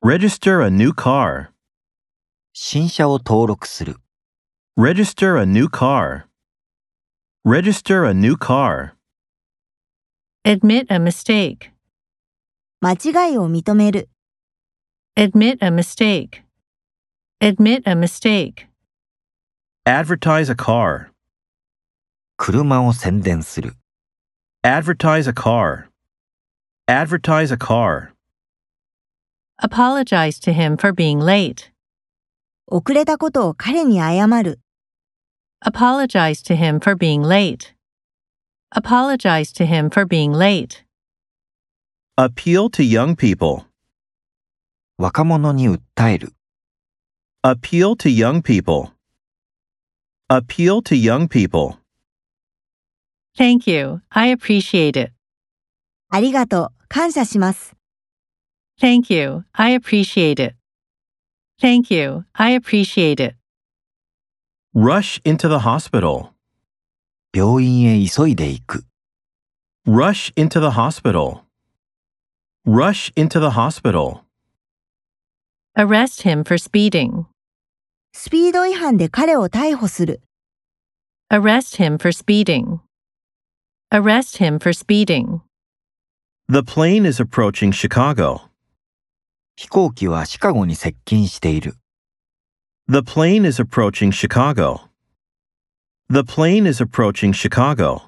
Register a new car. 新車を登録する。 Register a new car. Register a new car. Admit a mistake. 間違いを認める。 Admit a mistake. Admit a mistake. Advertise a car. 車を宣伝する。 Advertise a car. Advertise a car. Apologize to him for being late. 遅れたことを彼に謝る。 Apologize to him for being late. Apologize to him for being late. Appeal to young people. 若者に訴える。 Appeal to young people. Appeal to young people. Thank you. I appreciate it. ありがとう。感謝します。 Thank you. I appreciate it. Thank you. I appreciate it. Rush into the hospital. 病院へ急いで行く。 Rush into the hospital. Rush into the hospital. Arrest him for speeding. スピード違反で彼を逮捕する。 Arrest him for speeding. Arrest him for speeding. The plane is approaching Chicago. 飛行機はシカゴに接近している。 The plane is approaching Chicago. The plane is approaching Chicago.